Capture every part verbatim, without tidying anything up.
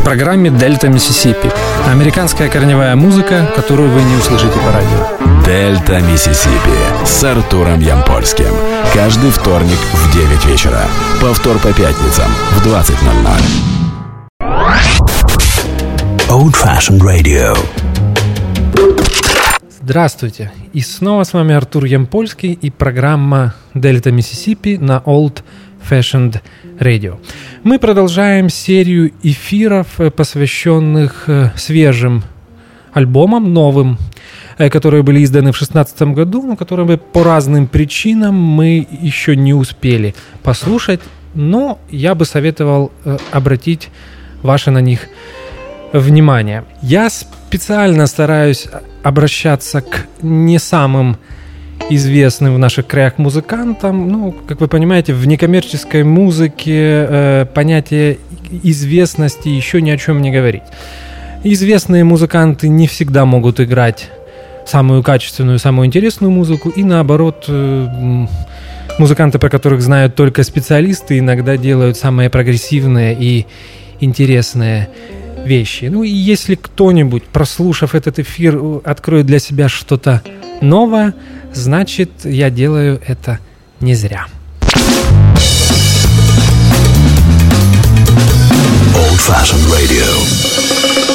в программе «Дельта Миссисипи». Американская корневая музыка, которую вы не услышите по радио. «Дельта Миссисипи» с Артуром Ямпольским. Каждый вторник в девять вечера. Повтор по пятницам в двадцать ноль ноль. Old Fashioned Radio. Здравствуйте. И снова с вами Артур Ямпольский и программа «Дельта Миссисипи» на Old Fashioned Radio. Мы продолжаем серию эфиров, посвященных свежим альбомам, новым, которые были изданы в шестнадцатом году, но которые по разным причинам мы еще не успели послушать, но я бы советовал обратить ваше на них внимание. Я специально стараюсь обращаться к не самым известным в наших краях музыкантам. Ну, как вы понимаете, в некоммерческой музыке э, понятие известности еще ни о чем не говорит. Известные музыканты не всегда могут играть самую качественную, самую интересную музыку, и наоборот, э, музыканты, про которых знают только специалисты, иногда делают самые прогрессивные и интересные вещи. Ну и если кто-нибудь, прослушав этот эфир, откроет для себя что-то новое, значит, я делаю это не зря. Old Fashioned Radio.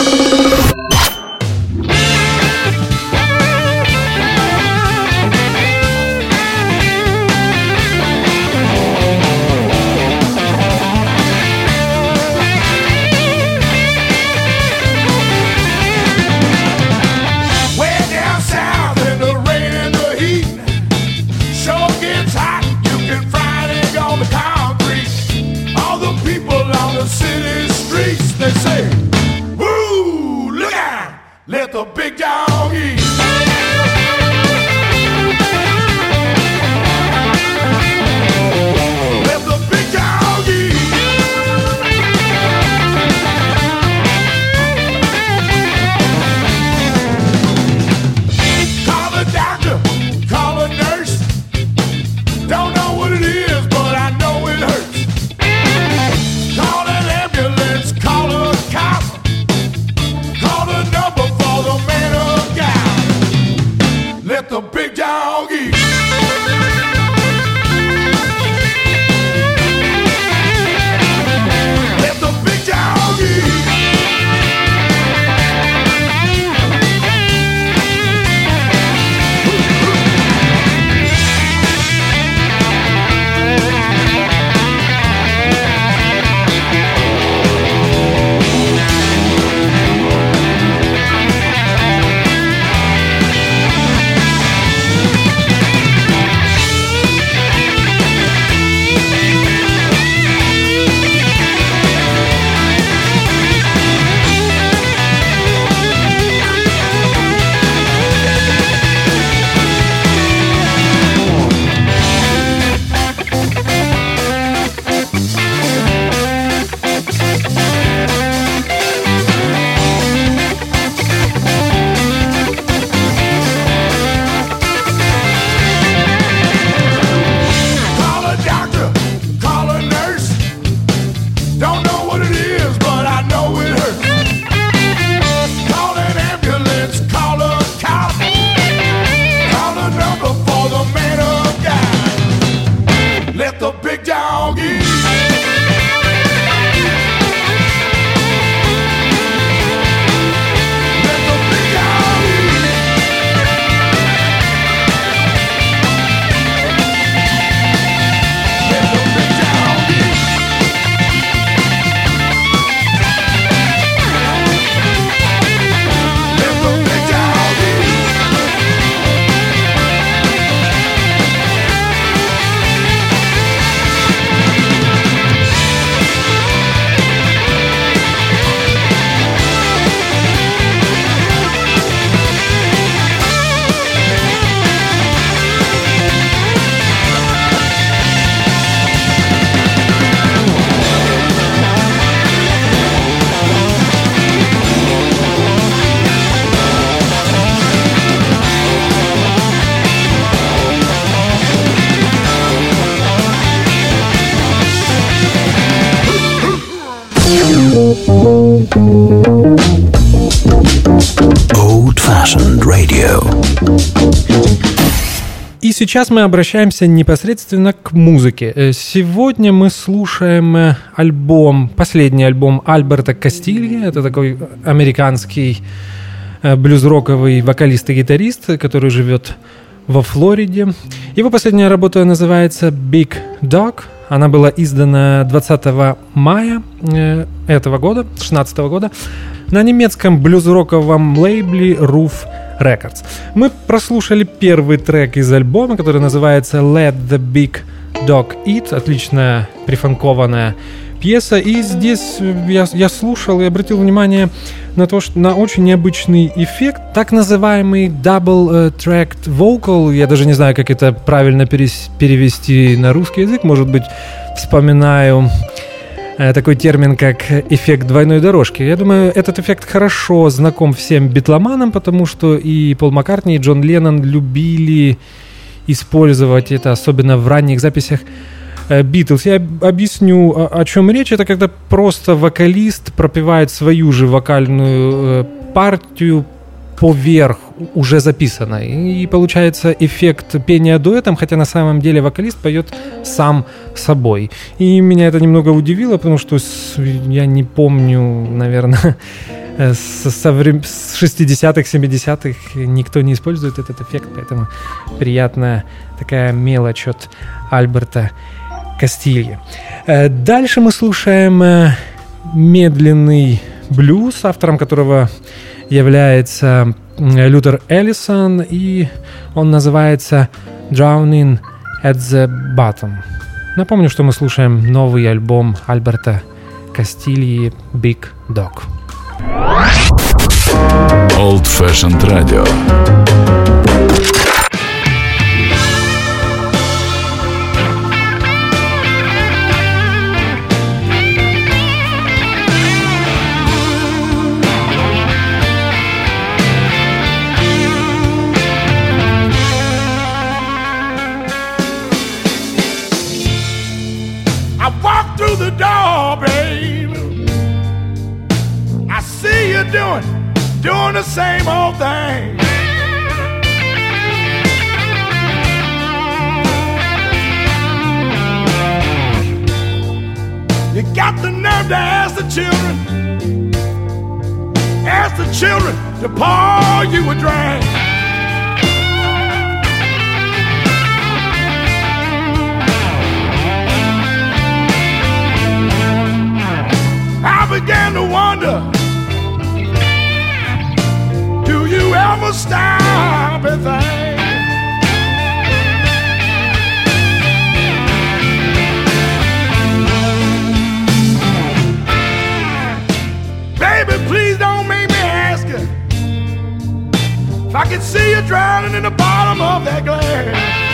Let the big dog eat. Let the big dog eat. Call the doctor, call a nurse. Don't know what it is, but I know it hurts. Call an ambulance, call a cop. Call the number for the man of God. Old-fashioned radio. И сейчас мы обращаемся непосредственно к музыке. Сегодня мы слушаем альбом, последний альбом Альберта Кастильи. Это такой американский блюз-роковый вокалист и гитарист, который живет во Флориде. Его последняя работа называется Big Dog. Она была издана двадцатого мая этого года, шестнадцатого года, на немецком блюз-роковом лейбле Roof Records. Мы прослушали первый трек из альбома, который называется Let the Big Dog Eat. Отличная прифанкованная пьеса. И здесь я, я слушал и обратил внимание на то, что на очень необычный эффект, так называемый double tracked vocal. Я даже не знаю, как это правильно перес, перевести на русский язык. Может быть, вспоминаю такой термин, как эффект двойной дорожки. Я думаю, этот эффект хорошо знаком всем битломанам, потому что и Пол Маккартни, и Джон Леннон любили использовать это, особенно в ранних записях Битлз. Я объясню, о, о чем речь. Это когда просто вокалист пропевает свою же вокальную партию поверх уже записанной. И получается эффект пения дуэтом, хотя на самом деле вокалист поет сам собой. И меня это немного удивило, потому что с, я не помню, наверное, с, со врем... с шестидесятых, семидесятых никто не использует этот эффект, поэтому приятная такая мелочь от Альберта Кастильи. Дальше мы слушаем медленный блюз, автором которого является Лютер Эллисон, и он называется Drowning at the Bottom. Напомню, что мы слушаем новый альбом Альберта Кастильи Big Dog. Old-fashioned radio. Doing, doing the same old thing. You got the nerve to ask the children, ask the children to pour you a drink. I began to wonder, do you ever stop and think? Baby, please don't make me ask you if I could see you drowning in the bottom of that glass.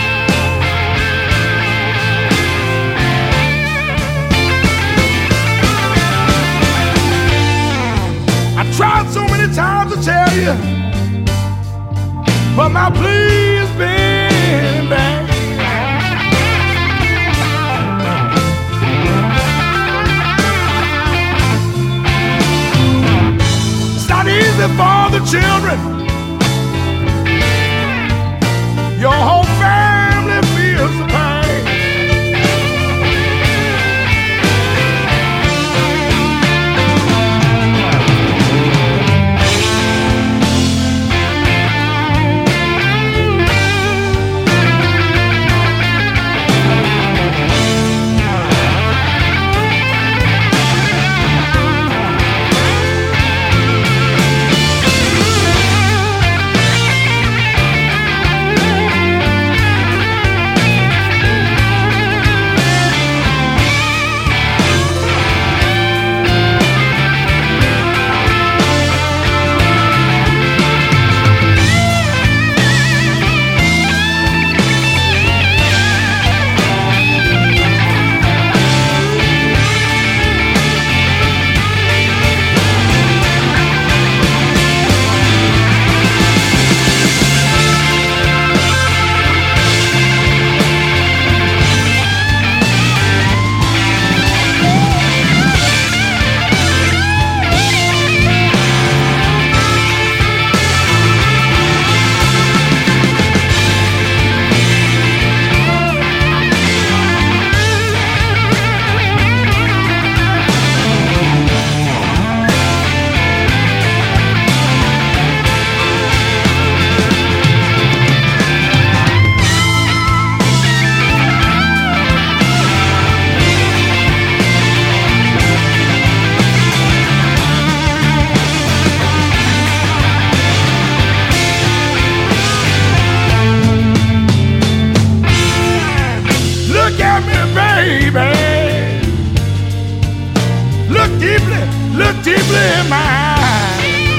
I tried so many times to tell you, but my plea has been in vain. It's not easy for the children. Your whole family feels the pain. lady, look deeply in my eyes.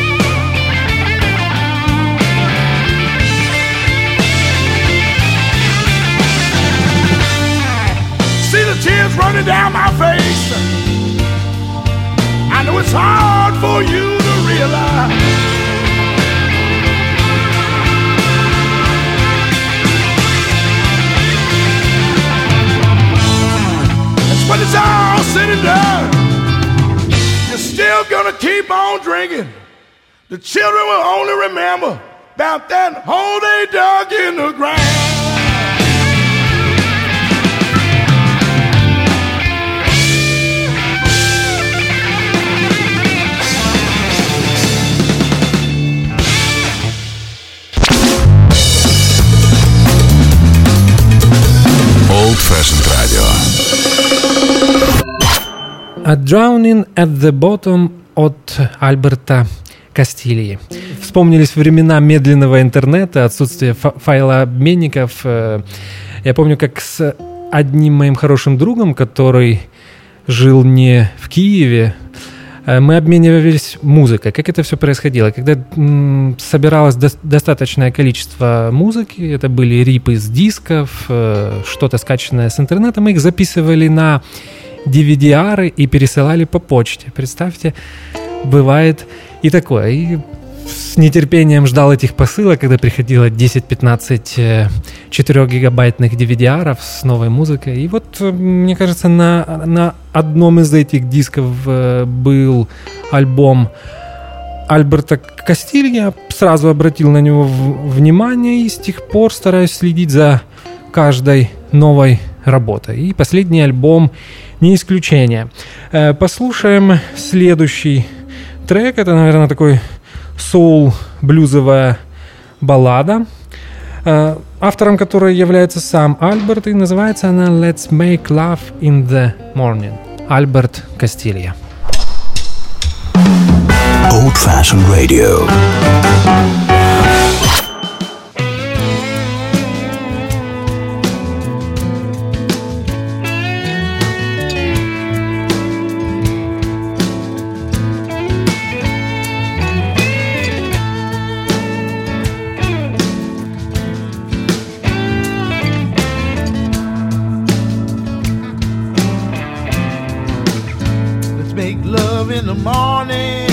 See the tears running down my face. I know it's hard for you to realize. When it's all said and done, you're still gonna keep on drinking. The children will only remember about that hole they dug in the ground. Old Fashioned Radio. A Drowning at the Bottom от Альберта Кастильи. Вспомнились времена медленного интернета, отсутствие файлообменников. Я помню, как с одним моим хорошим другом, который жил не в Киеве, мы обменивались музыкой. Как это все происходило? Когда м, собиралось до- достаточное количество музыки, это были рипы с дисков, э, что-то скачанное с интернета, мы их записывали на ди ви ди-ары и пересылали по почте. Представьте, бывает и такое. И с нетерпением ждал этих посылок, когда приходило десять-пятнадцать четырехгигабайтных ди ви ди-аров с новой музыкой. И вот, мне кажется, на, на одном из этих дисков был альбом Альберта Кастильи. Я сразу обратил на него внимание и с тех пор стараюсь следить за каждой новой работой. И последний альбом не исключение. Послушаем следующий трек. Это, наверное, такой соул-блюзовая баллада, автором которой является сам Альберт, и называется она «Let's Make Love in the Morning». Альберт Кастильи. Old Fashioned Radio. Make love in the morning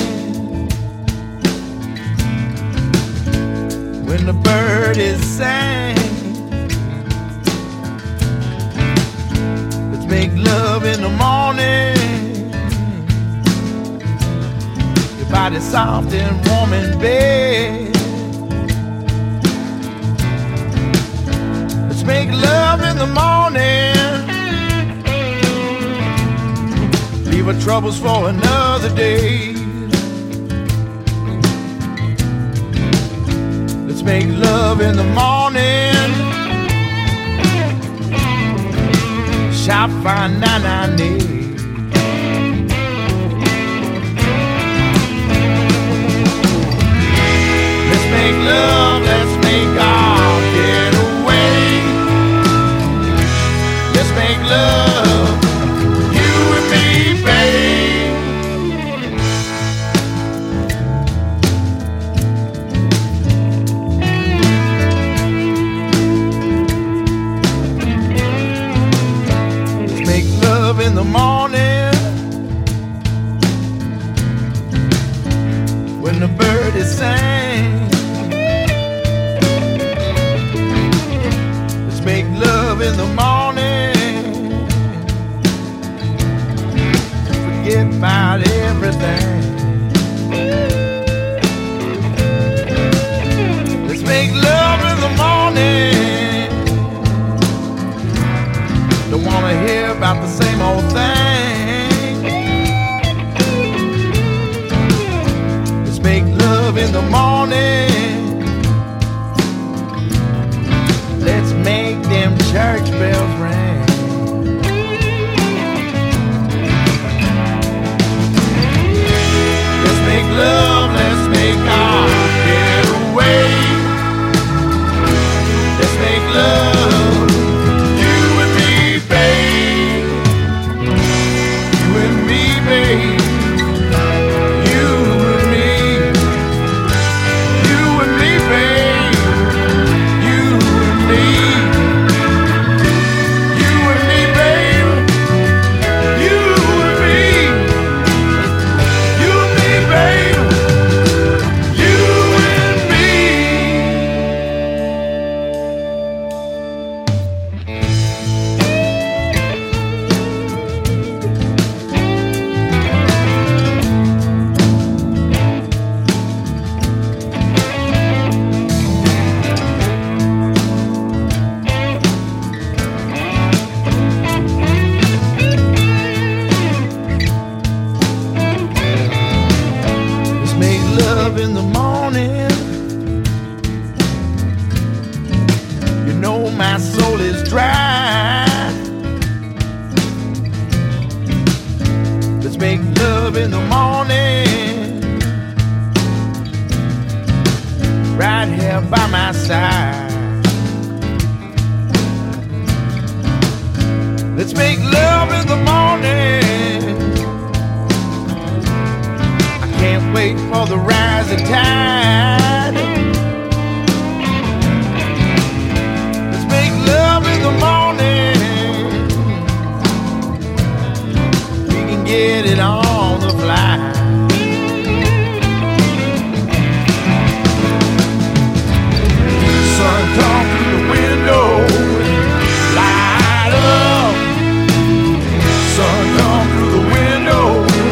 when the bird is sang. Let's make love in the morning. Your body's soft and warm in bed. Let's make love in the morning. Leave our troubles for another day. Let's make love in the morning. Shop fine nine nine eight. Let's make love, let's make our getaway. Let's make love, you and me, babe. Let's make love in the morning when the bird is sang. Let's make love in the morning. Forget about everything. Let's make love in the morning. Don't wanna hear about the same old thing. Let's make love in the morning. Let's make them church bells ring. Let's make love, let's make our getaway. Let's make love, you and me, babe. You and me, babe. my side. Let's make love in the morning. I can't wait for the rising tide. Let's make love in the morning. We can get it on the fly. Sun come through the window, light up. Sun come through the window,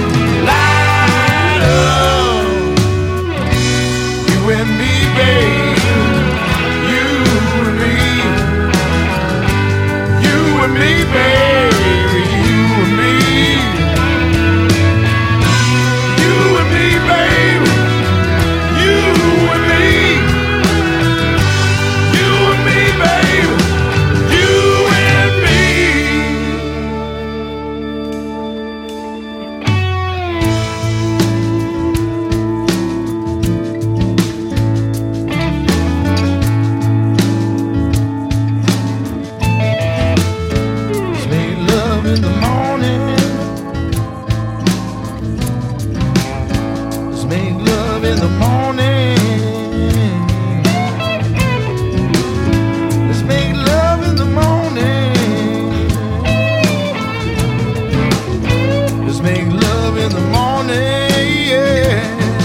light up. You and me, babe. You and me. You and me, baby. You and me. You and me, babe. You and me. You and me, babe. You and me. Let's make love in the morning. Let's make love in the morning. Let's make love in the morning. Let's make love in the morning, yeah.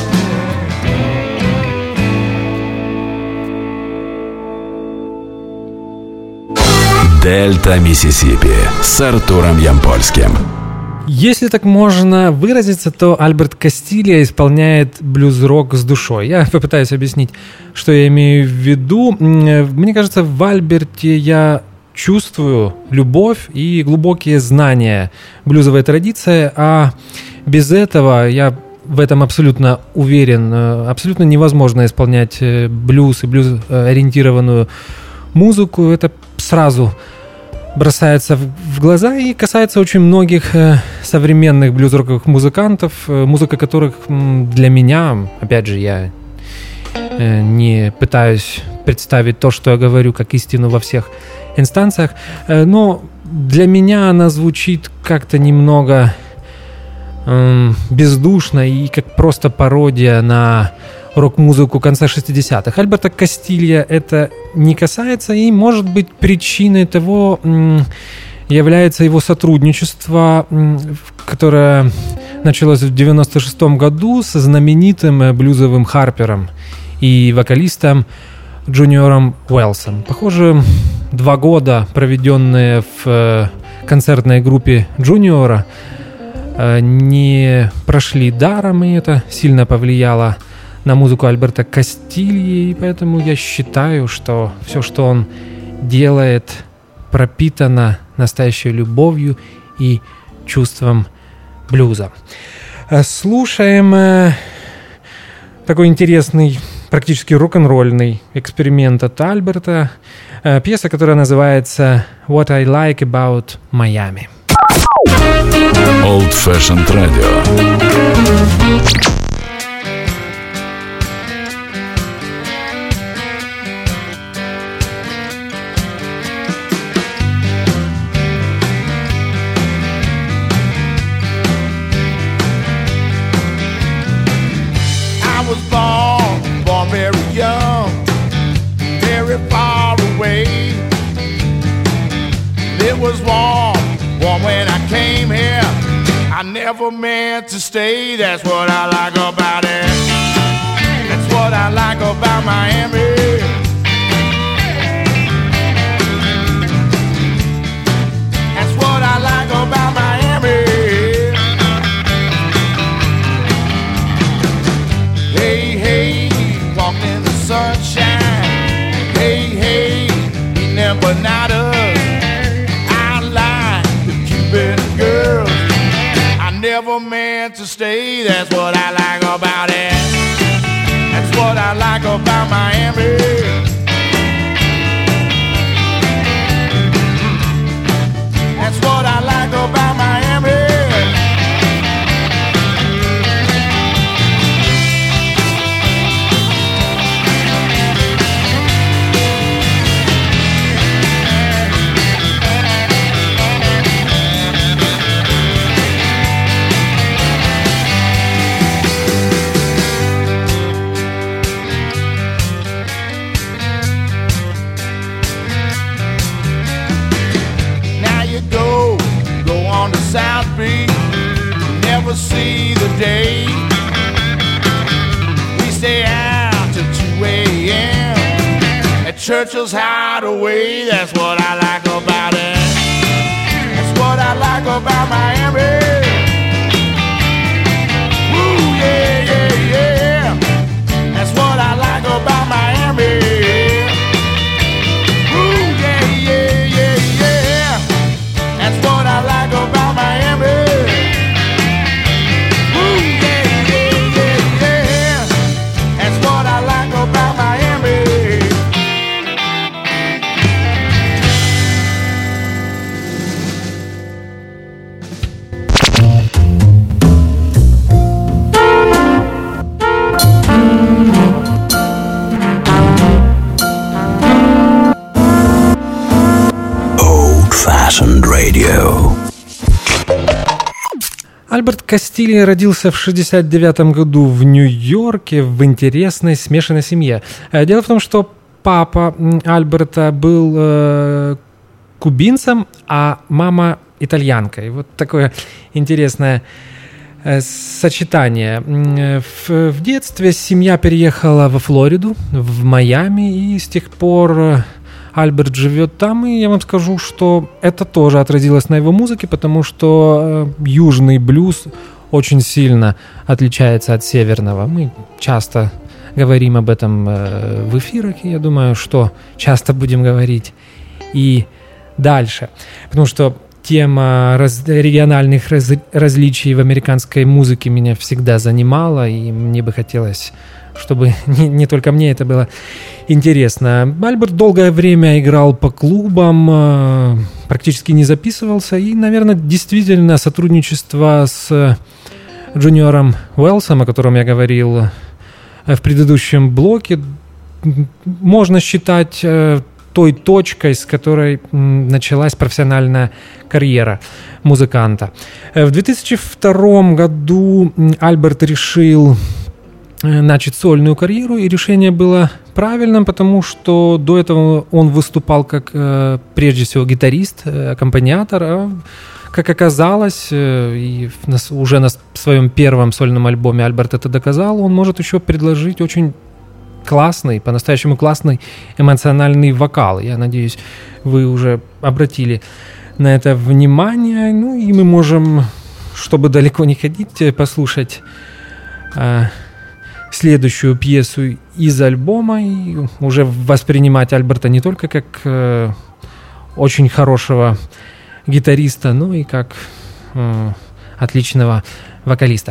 Дельта Миссисипи с Артуром Ямпольским. Если так можно выразиться, то Альберт Кастилья исполняет блюз-рок с душой. Я попытаюсь объяснить, что я имею в виду. Мне кажется, в Альберте я чувствую любовь и глубокие знания блюзовой традиции, а без этого, я в этом абсолютно уверен, абсолютно невозможно исполнять блюз и блюз-ориентированную музыку. Это сразу бросается в глаза и касается очень многих э, современных блюз-роковых музыкантов, э, музыка которых м, для меня, опять же, я э, не пытаюсь представить то, что я говорю, как истину во всех инстанциях, э, но для меня она звучит как-то немного э, бездушно и как просто пародия на рок-музыку конца шестидесятых. Альберта Кастилья это не касается, и, может быть, причиной того является его сотрудничество, которое началось в девяносто шестом году со знаменитым блюзовым харпером и вокалистом Джуниором Уэлсом. Похоже, два года, проведенные в концертной группе Джуниора, не прошли даром, и это сильно повлияло на музыку Альберта Кастильи, и поэтому я считаю, что все, что он делает, пропитано настоящей любовью и чувством блюза. Слушаем такой интересный, практически рок-н-ролльный эксперимент от Альберта, пьеса, которая называется «What I Like About Miami». Old Fashioned Radio. Never meant to stay, that's what I like about it. That's what I like about Miami. That's what I like about Miami. Hey, hey, walking in the sunshine. Hey, hey, eating empanadas. I like the Cuban girls. Never meant to stay, that's what I like about it. That's what I like about Miami. That's what I like about Miami. day. We stay out till two a.m. at Churchill's Hideaway. That's what I like about it. That's what I like about Miami. Woo, yeah, yeah, yeah. That's what I like about Miami. Woo, yeah, yeah, yeah, yeah. That's what I like about Miami. Woo, yeah, yeah, yeah, yeah. That's what I like about Miami. Old-fashioned radio. Альберт Кастильо родился в шестьдесят девятом году в Нью-Йорке в интересной смешанной семье. Дело в том, что папа Альберта был э, кубинцем, а мама итальянкой. Вот такое интересное э, сочетание. В, в детстве семья переехала во Флориду, в Майами, и с тех пор Альберт живет там, и я вам скажу, что это тоже отразилось на его музыке, потому что южный блюз очень сильно отличается от северного. Мы часто говорим об этом в эфирах, и я думаю, что часто будем говорить и дальше. Потому что тема раз, региональных раз, различий в американской музыке меня всегда занимала, и мне бы хотелось, чтобы не, не только мне это было интересно. Альберт долгое время играл по клубам, практически не записывался, и, наверное, действительно сотрудничество с Джуниором Уэллсом, о котором я говорил в предыдущем блоке, можно считать той точкой, с которой началась профессиональная карьера музыканта. В две тысячи втором году Альберт решил начать сольную карьеру, и решение было правильным, потому что до этого он выступал как, прежде всего, гитарист, аккомпаниатор, а, как оказалось, и уже на своем первом сольном альбоме Альберт это доказал, он может еще предложить очень классный, по-настоящему классный эмоциональный вокал. Я надеюсь, вы уже обратили на это внимание. Ну и мы можем, чтобы далеко не ходить, послушать э, следующую пьесу из альбома и уже воспринимать Альберта не только как э, очень хорошего гитариста, но и как э, отличного вокалиста.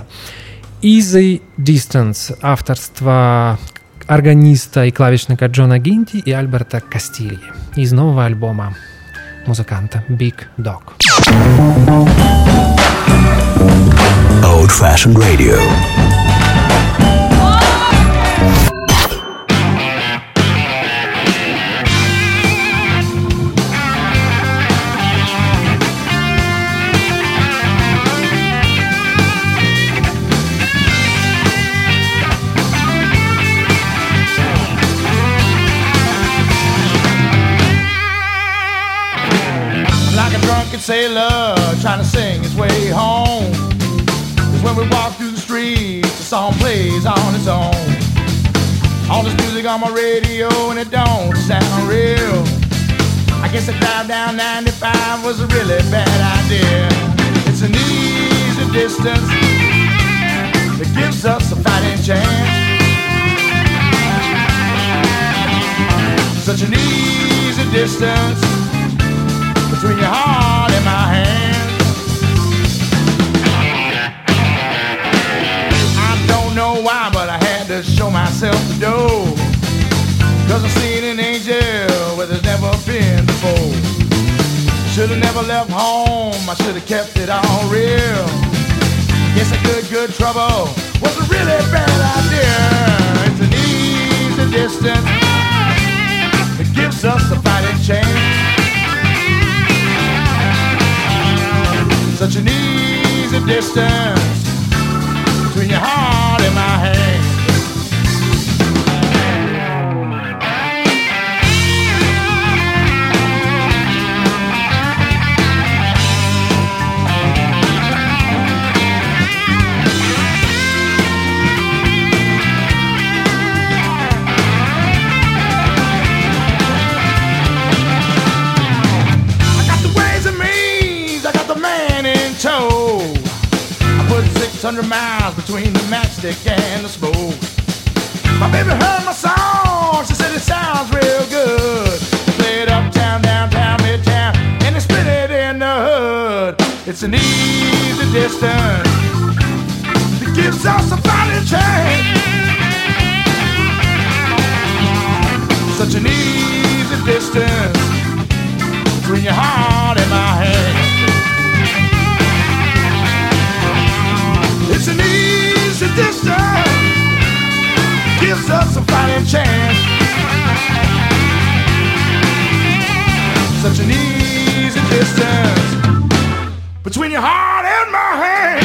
Easy Distance, авторство органиста и клавишника Джона Гинти и Альберта Кастильо из нового альбома музыканта Big Dog. Old-fashioned radio. Sailor trying to sing his way home. Cause when we walk through the streets, the song plays on its own. All this music on my radio and it don't sound real. I guess a drive down ninety-five was a really bad idea. It's an easy distance that gives us a fighting chance. Such an easy distance between your heart and my hand. I don't know why, but I had to show myself the door. Cause I seen an angel where there's never been before. Should've never left home, I should've kept it all real. Guess a good, good trouble was a really bad idea. It's an easy distance that gives us a fighting chance. Such an easy distance between your heart and my hand. hundred miles between the matchstick and the smoke. My baby heard my song, she said it sounds real good. Play it uptown, downtown, midtown, and they spin it in the hood. It's an easy distance that gives us a fighting chance. Such an easy distance between your heart and my hand. It's an easy distance, gives us a fighting chance. Such an easy distance between your heart and my hand.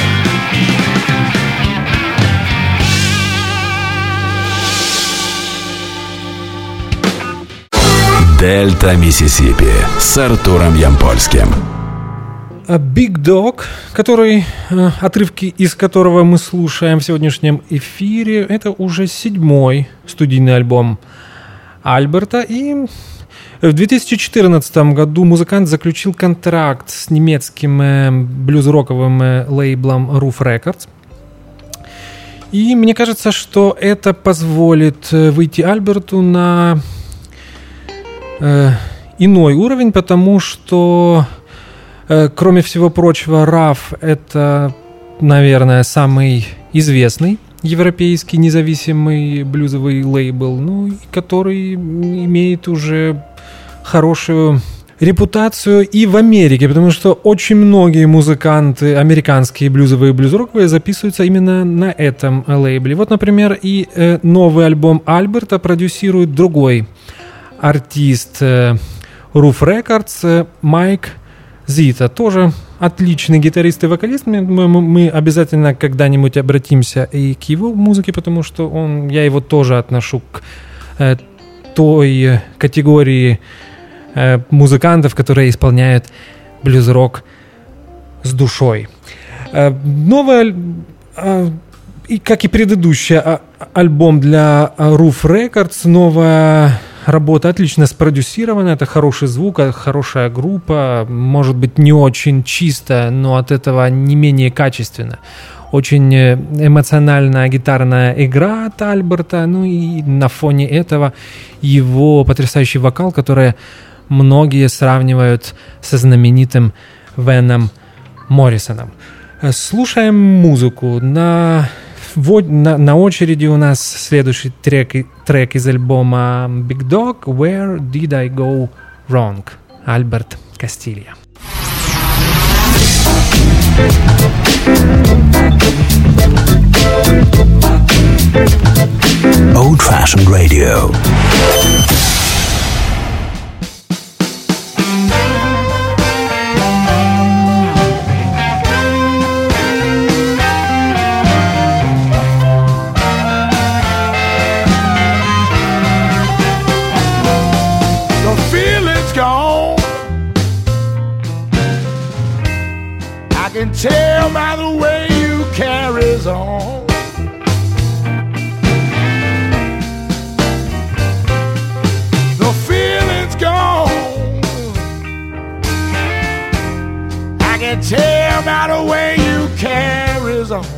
Дельта Миссисипи с Артуром Ямпольским. Big Dog, который, отрывки из которого мы слушаем в сегодняшнем эфире, это уже седьмой студийный альбом Альберта. И в две тысячи четырнадцатом году музыкант заключил контракт с немецким блюз-роковым лейблом Ruf Records. И мне кажется, что это позволит выйти Альберту на э, иной уровень, потому что, кроме всего прочего, Ruf — это, наверное, самый известный европейский независимый блюзовый лейбл, ну, который имеет уже хорошую репутацию и в Америке, потому что очень многие музыканты, американские блюзовые и блюз-роковые, записываются именно на этом лейбле. Вот, например, и э, новый альбом Альберта продюсирует другой артист э, Ruf Records, э, Майк Зита, тоже отличный гитарист и вокалист. Мы, мы, мы обязательно когда-нибудь обратимся и к его музыке, потому что он, я его тоже отношу к э, той категории э, музыкантов, которые исполняют блюз-рок с душой. Э, новый, э, и, как и предыдущий э, альбом для Ruf Records, новая работа отлично спродюсирована, это хороший звук, хорошая группа, может быть, не очень чисто, но от этого не менее качественно. Очень эмоциональная гитарная игра от Альберта, ну и на фоне этого его потрясающий вокал, который многие сравнивают со знаменитым Веном Моррисоном. Слушаем музыку. На На, на очереди у нас следующий трек, трек из альбома Big Dog, Where Did I Go Wrong? Альберт Кастилья. Old Fashioned Radio. Can tell by the way you carries on. The feeling's gone. I can tell by the way you carries on.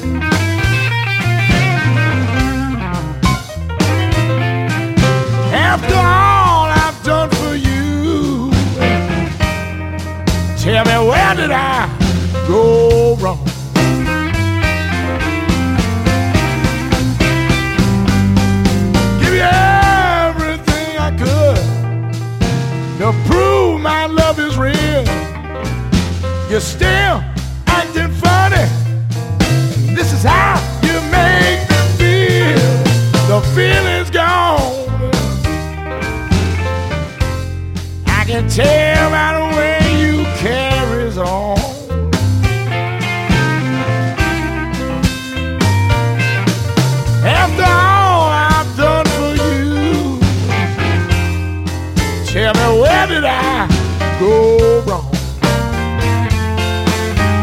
After all I've done for you, tell me, where did I go wrong? Give you everything I could to prove my love is real. You're still acting funny. This is how you make me feel. The feeling's gone. I can tell by the way you carries on. After all I've done for you, tell me, where did I go wrong?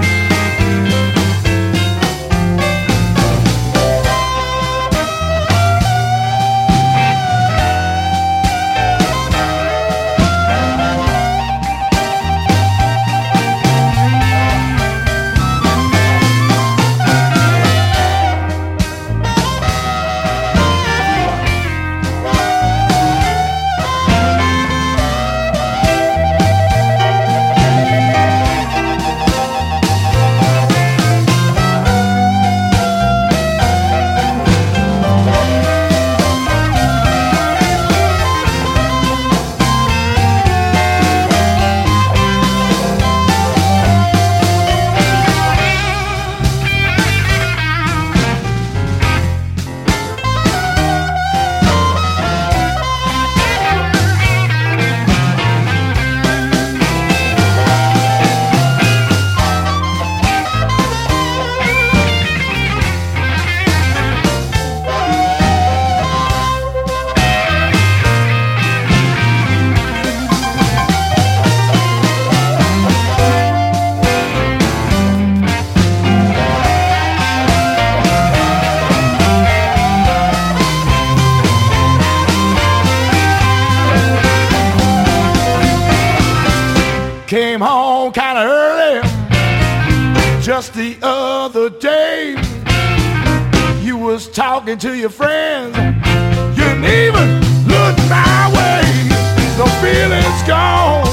home kind of early. Just the other day, you was talking to your friends. You didn't even look my way. The feeling's gone.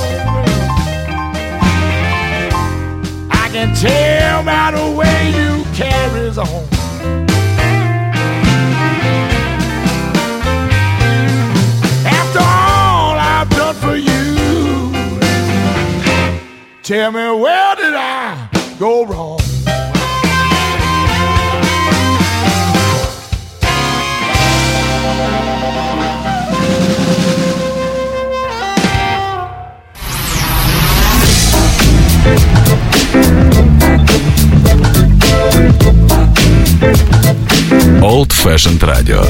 I can tell by the way you carries on. After all I've done for you, tell me, where did I go wrong? Old Fashioned Radio.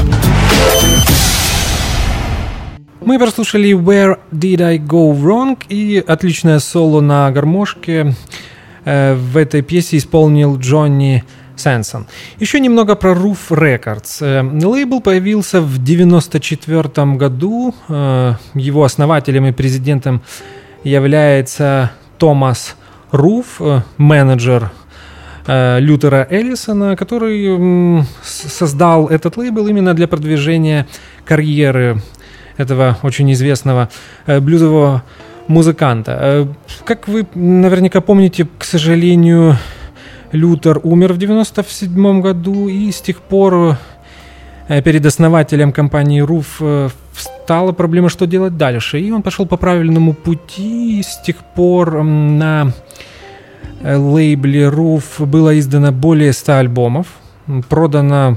Мы прослушали Where Did I Go Wrong и отличное соло на гармошке э, в этой пьесе исполнил Джонни Сэнсон. Еще немного про Roof Records. Э, лейбл появился в девяносто четвёртом году. Э, его основателем и президентом является Томас Руф, э, менеджер э, Лютера Эллисона, который э, создал этот лейбл именно для продвижения карьеры этого очень известного э, блюзового музыканта. Э, как вы наверняка помните, к сожалению, Лютер умер в девяносто седьмом году, и с тех пор э, перед основателем компании Руф э, встала проблема, что делать дальше. И он пошел по правильному пути, и с тех пор э, на э, лейбле Руф было издано более ста альбомов, продано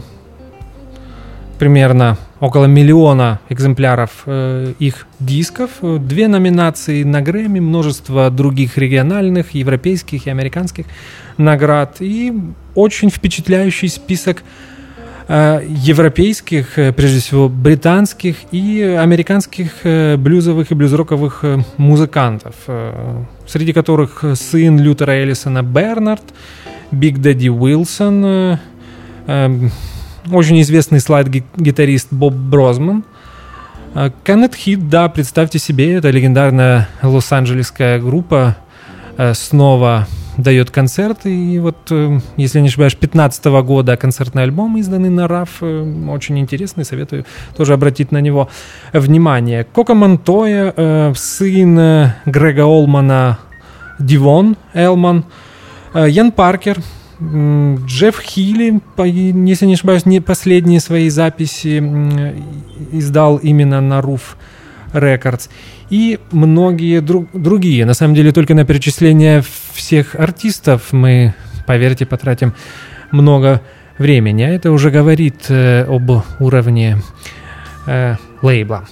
примерно около миллиона экземпляров э, их дисков, две номинации на Грэмми, множество других региональных, европейских и американских наград и очень впечатляющий список э, европейских, э, прежде всего британских и американских э, блюзовых и блюзроковых э, музыкантов, э, среди которых сын Лютера Эллисона Бернард, Биг Дэдди Уилсон, э, э, очень известный слайд-гитарист Боб Брозман. Кеннет Хит, да, представьте себе, это легендарная лос-анджелесская группа, снова дает концерт. И вот, если не ошибаюсь, пятнадцатого года концертный альбом, изданный на раф, очень интересный, советую тоже обратить на него внимание. Коко Монтоя, сын Грега Олмана, Дивон Элман, Ян Паркер, Джефф Хилли, если не ошибаюсь, не последние свои записи издал именно на Roof Records. И многие друг, другие. На самом деле, только на перечисление всех артистов мы, поверьте, потратим много времени. А это уже говорит э, об уровне э, лейбла.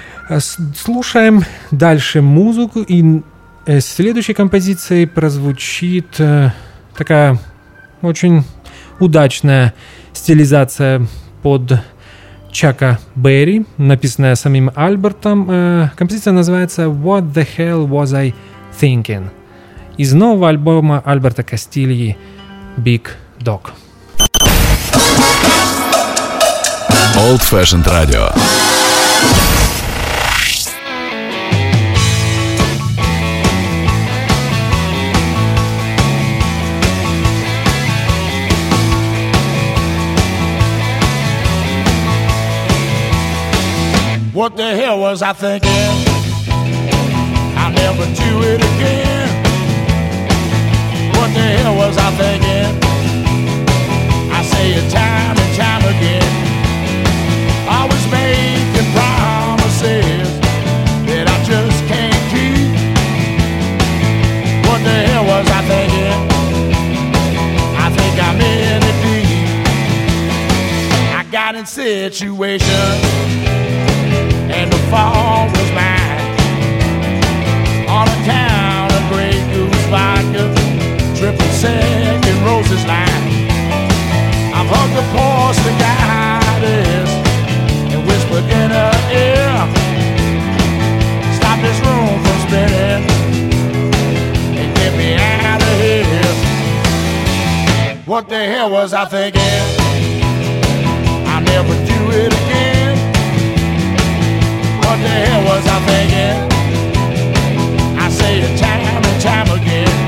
Слушаем дальше музыку. И э, следующей композицией прозвучит э, такая очень удачная стилизация под Чака Берри, написанная самим Альбертом. Э, композиция называется «What the hell was I thinking?» из нового альбома Альберта Кастильи «Big Dog». Old Fashioned Radio. What the hell was I thinking? I'll never do it again. What the hell was I thinking? I say it time and time again. Always making promises that I just can't keep. What the hell was I thinking? I think I'm in it deep. I got in situations and the fall was mine. On account of Grey Goose vodka, triple sec and Rose's line. I've hugged the porcelain goddess and whispered in her ear, stop this room from spinning and get me out of here. What the hell was I thinking? I'll never do it again. What the hell was I thinking? I say it time and time again.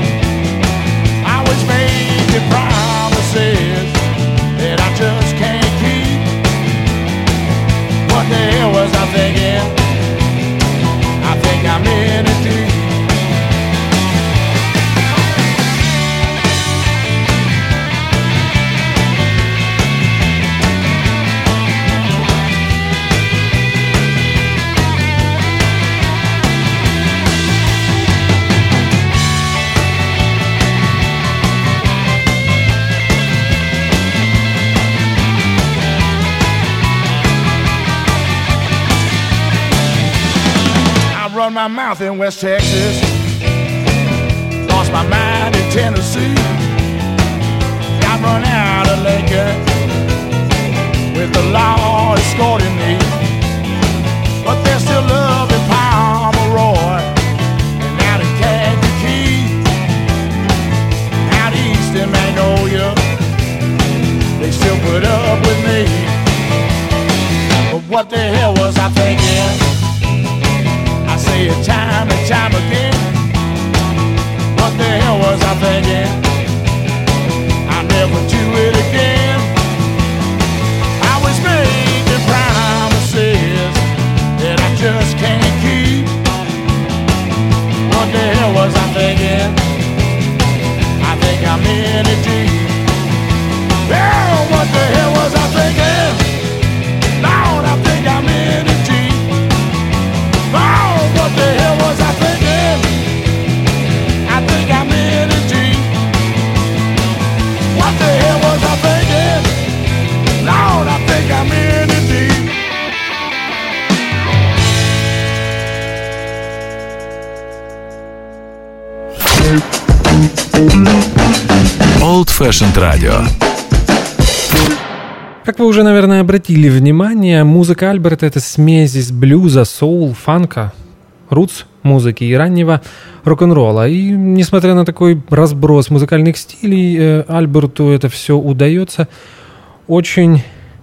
my mouth in West Texas. Lost my mind in Tennessee. Got run out of Lincoln with the law escorting me. But there's still love in Pomeroy and out in Kankakee. Out east in Magnolia, they still put up with me. But what the hell was I thinking? I say it time and time again. What the hell was I thinking? I'll never do it again. I was making promises that I just can't keep. What the hell was I thinking? I think I'm in it deep. Well, what the hell was I thinking? Lord, I think I'm in it deep. Oh, what the hell was I thinking? I think I'm in it deep. What the hell was I thinking? Lord, I think I'm in it deep. Old Fashioned Radio. Как вы уже, наверное, обратили внимание, музыка Альберта — это смесь из блюза, соул, фанка, рутс музыки и раннего рок-н-ролла. И несмотря на такой разброс музыкальных стилей, э, Альберту это все удается очень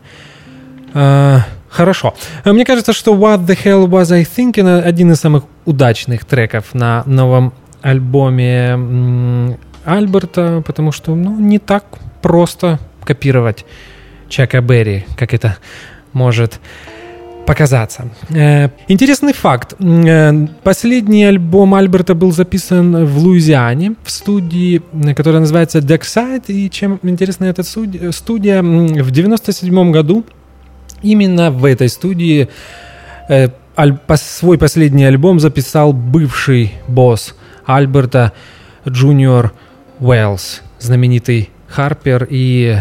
э, хорошо. Мне кажется, что «What the hell was I thinking» — один из самых удачных треков на новом альбоме м, Альберта, потому что ну, не так просто копировать Чака Берри, как это может показаться. Э, интересный факт. Э, последний альбом Альберта был записан в Луизиане, в студии, которая называется Dockside. И чем интересна эта студия, в девяносто седьмом году именно в этой студии э, аль, свой последний альбом записал бывший босс Альберта Джуниор Уэллс, знаменитый харпер и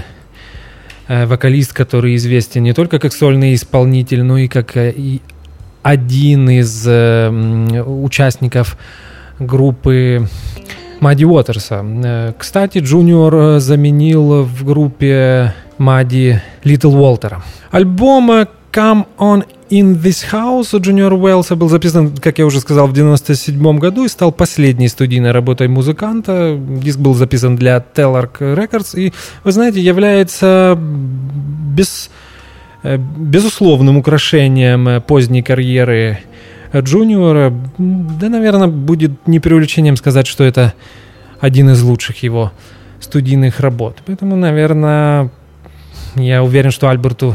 вокалист, который известен не только как сольный исполнитель, но и как и один из э, участников группы Мадди Уотерса. Кстати, Джуниор заменил в группе Мадди Литл Уолтера. Альбом «Come On In This House» у Джуниора Уэллса был записан, как я уже сказал, в девяносто седьмом году и стал последней студийной работой музыканта. Диск был записан для Telarc Records и, вы знаете, является без, безусловным украшением поздней карьеры Джуниора. Да, наверное, будет не преувеличением сказать, что это один из лучших его студийных работ. Поэтому, наверное, я уверен, что Альберту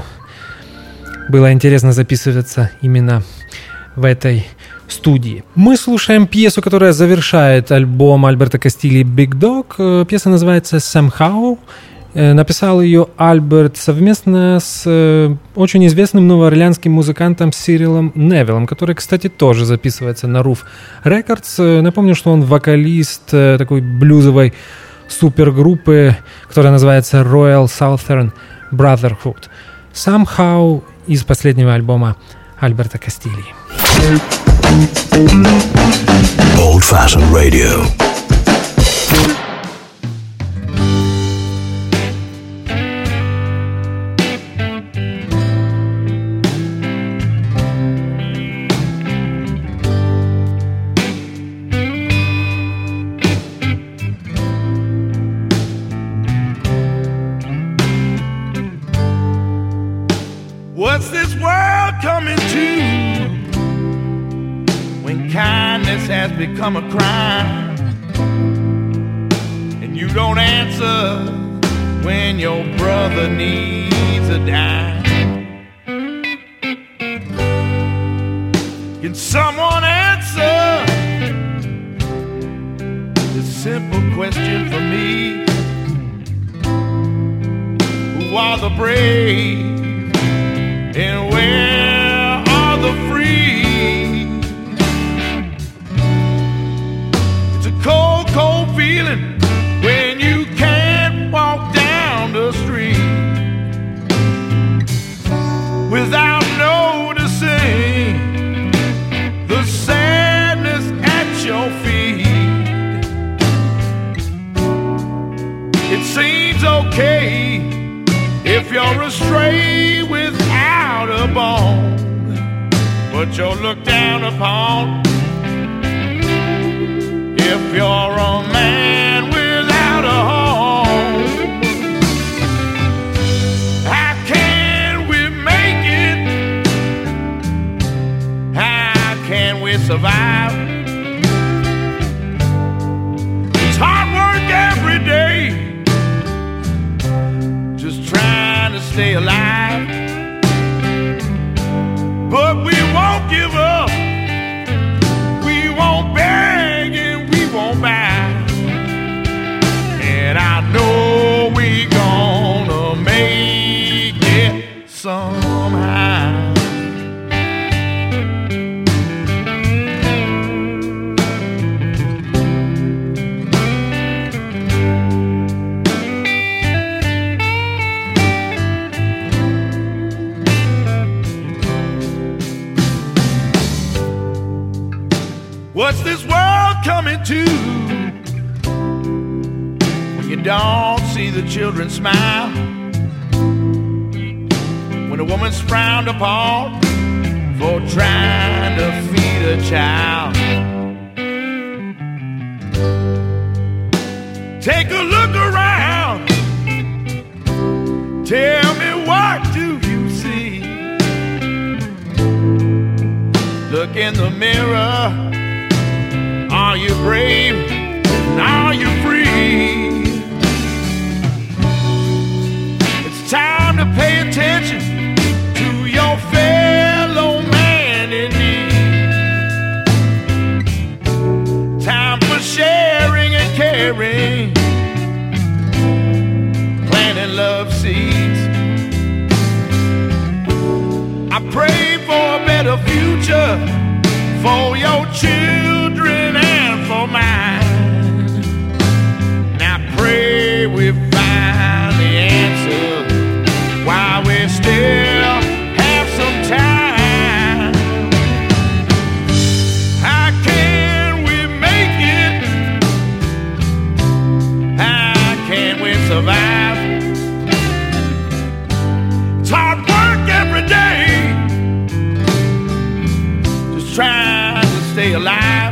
было интересно записываться именно в этой студии. Мы слушаем пьесу, которая завершает альбом Альберта Кастильи «Big Dog». Пьеса называется «Somehow». Написал ее Альберт совместно с очень известным новоорлеанским музыкантом Сирилом Невиллом, который, кстати, тоже записывается на Roof Records. Напомню, что он вокалист такой блюзовой супергруппы, которая называется Royal Southern Brotherhood. «Somehow» из последнего альбома Альберта Кастильи. Old Fashioned Radio. What's this world coming to when kindness has become a crime and you don't answer when your brother needs a dime? Can someone answer this simple question for me? Who are the brave? And where are the free? It's a cold, cold feeling when you can't walk down the street without noticing the sad stray without a bone, but you're looked down upon if you're a man without a home. How can we make it? How can we survive? It's hard work every day, just trying to stay alive. But we won't give up, we won't beg and we won't bow. And I know we gonna make it somehow. What's this world coming to when you don't see the children smile? When a woman's frowned upon for trying to feed a child? Take a look around, tell me, what do you see? Look in the mirror. Are you brave? Are you free? It's time to pay attention to your fellow man in need. Time for sharing and caring, planting love seeds. I pray for a better future for your children and for mine. Now pray we find the answer while we still have some time. How can we make it? How can we survive? It's hard work every day, just trying to stay alive.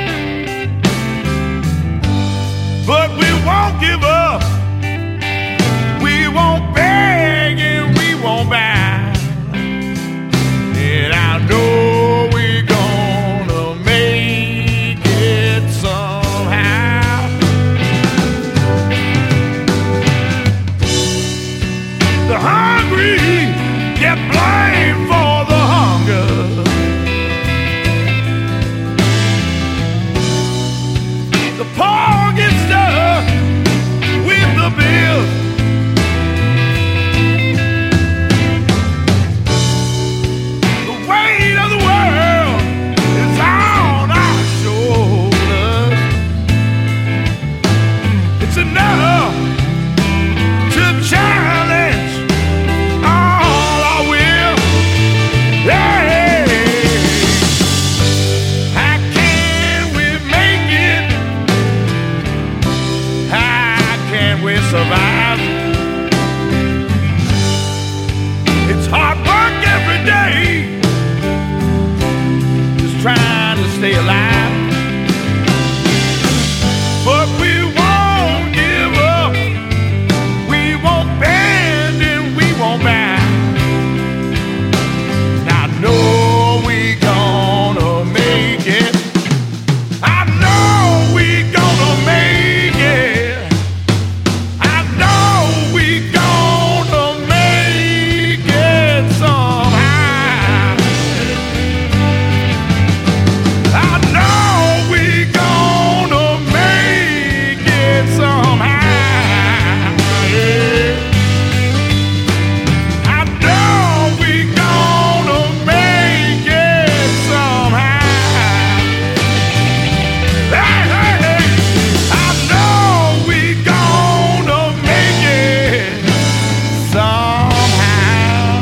But we won't give up, we won't beg and we won't bow. And I know we're gonna make it somehow. The hungry get blamed for the hunger. The poor get stuck with the bill. The weight of the world is on our shoulders. It's enough to challenge all our will. Hey, how can we make it? How can we survive? It's hard work every day, just trying to stay alive. But we won't give up, we won't bend and we won't bow. I know we gonna make it. I know we gonna make it. I know we gonna make it somehow. I know we gonna make it somehow. Yeah. I know we gonna make it somehow. Hey, hey, hey. I know we gonna make it somehow.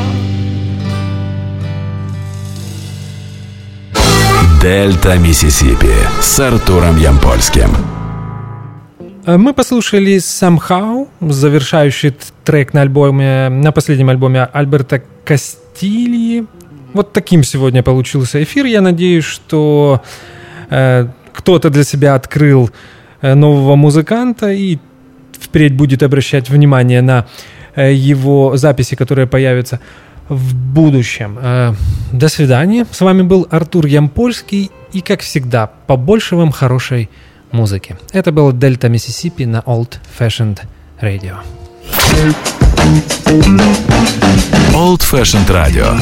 Дельта Миссисипи с Артуром Ямпольским. Мы послушали «Somehow», завершающий трек на альбоме, на последнем альбоме Альберто Кастильи. Вот таким сегодня получился эфир. Я надеюсь, что э, кто-то для себя открыл э, нового музыканта и впредь будет обращать внимание на э, его записи, которые появятся в будущем. Э, до свидания. С вами был Артур Ямпольский. И, как всегда, побольше вам хорошей музыки. Это был Дельта Миссисипи на Old Fashioned Radio. Old Fashioned Radio.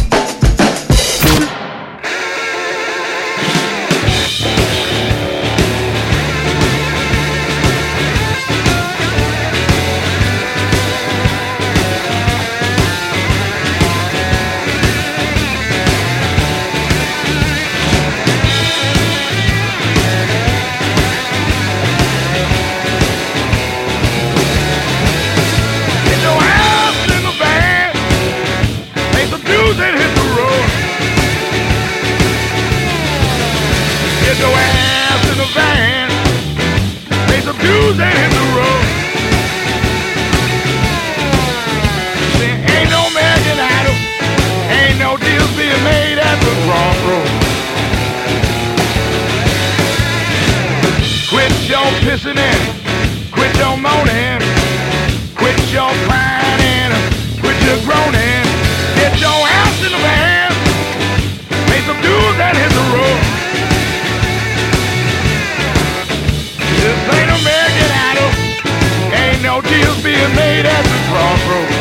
Pissing in, quit your moaning, quit your crying, quit your groaning, get your ass in the van, make some dudes that hit the road. This ain't American Idol, ain't no deals being made at the crossroads.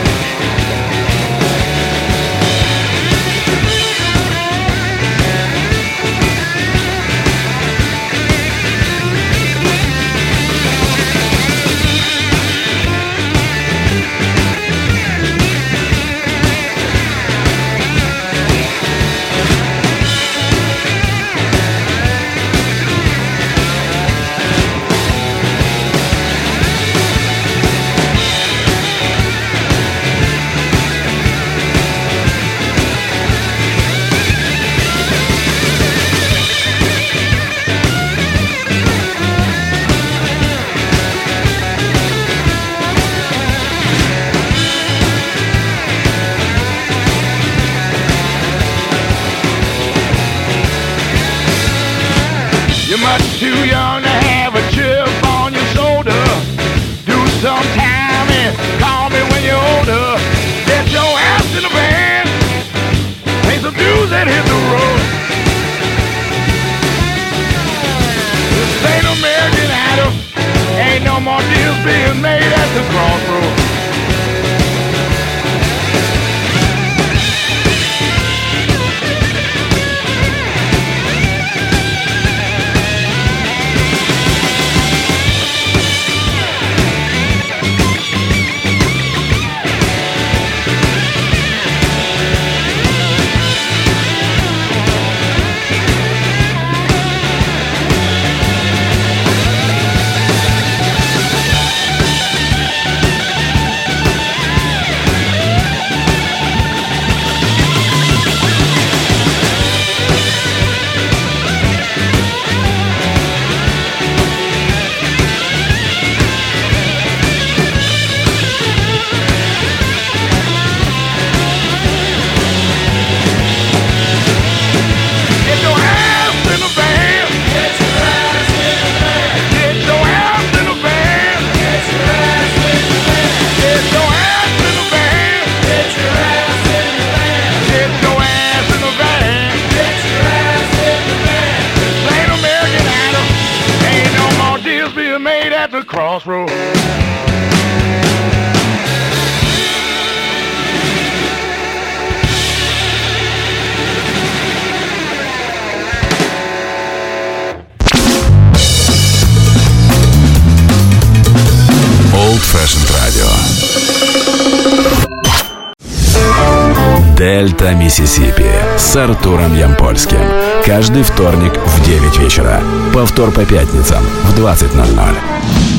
Much too young to have a chip on your shoulder. Do some time and call me when you're older. Get your ass in the van, pay some dues and hit the road. This ain't American Idol, ain't no more deals being made at the crossroads. Crossroads. Old Fashioned Radio. Дельта Миссисипи с Артуром Ямпольским. Каждый вторник в девять вечера. Повтор по пятницам в двадцать ноль ноль.